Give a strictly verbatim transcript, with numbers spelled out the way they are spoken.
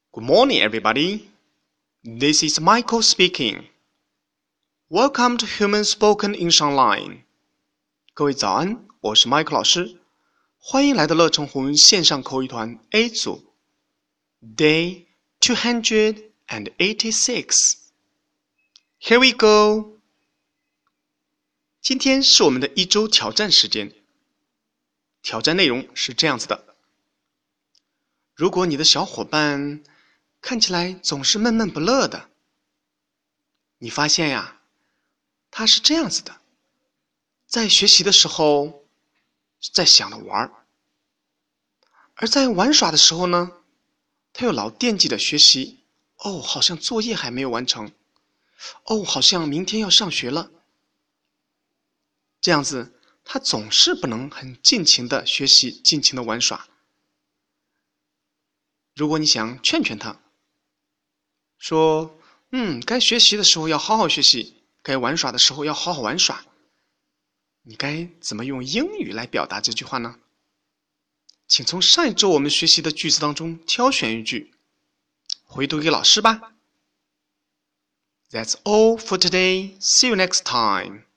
Good morning, everybody. This is Michael speaking. Welcome to Human Spoken English Online. 各位早安，我是 Michael 老师，欢迎来到乐成红线上口语团 A 组 Day two hundred eighty-six. Here we go. 今天是我们的一周挑战时间。挑战内容是这样子的：如果你的小伙伴看起来总是闷闷不乐的，你发现呀，他是这样子的，在学习的时候在想着玩，而在玩耍的时候呢，他又老惦记着学习。哦，好像作业还没有完成，哦，好像明天要上学了。这样子他总是不能很尽情的学习，尽情的玩耍。如果你想劝劝他，说嗯，该学习的时候要好好学习，该玩耍的时候要好好玩耍，你该怎么用英语来表达这句话呢？请从上一周我们学习的句子当中挑选一句，回读给老师吧。That's all for today. See you next time.